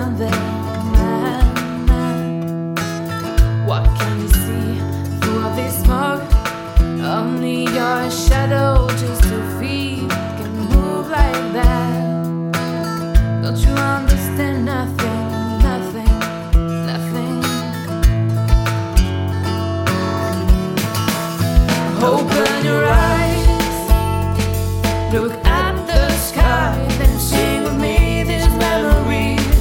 down there, man. What can you see through all this smoke? Only your shadow, just your feet can move like that. Don't you understand nothing, nothing, nothing? Open your eyes, look at the sky, then sing with me these memories.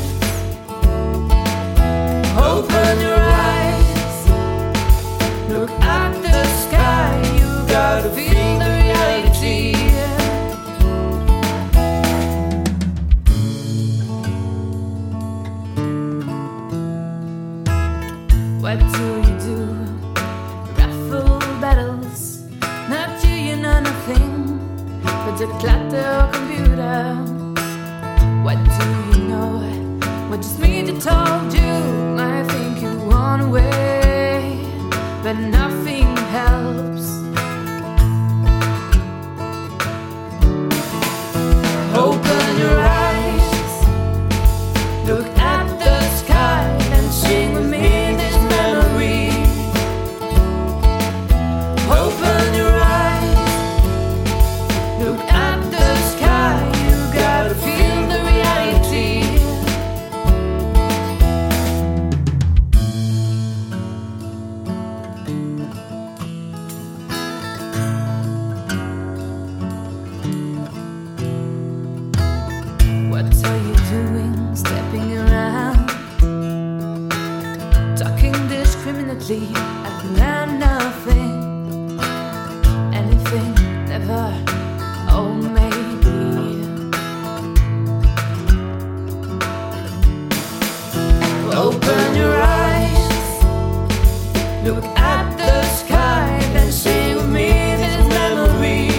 Open your eyes, look at the sky, you gotta feel the reality. What do you do? Raffle battles, not you, you know nothing but the clatter computer. What do you know? What just me that told you? I think you want away, but nothing helps. Open your eyes, look at the sky, and sing with me these memories. Open your eyes, look at the sky, you gotta feel the reality. What are you doing, stepping around, talking discriminately at nothing, anything, never, oh maybe. Open your eyes, look at the sky, then sing with me these memories.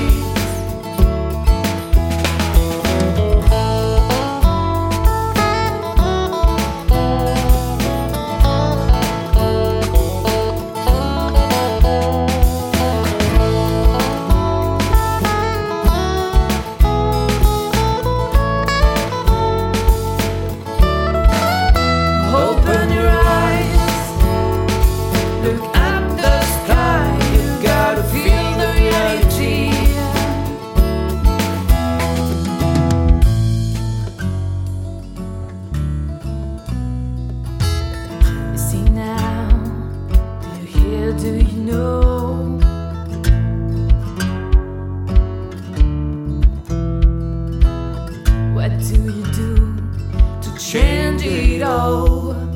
Open your eyes, look at the sky, you gotta feel the reality. You see now, do you hear, do you know? What do you do to change it all?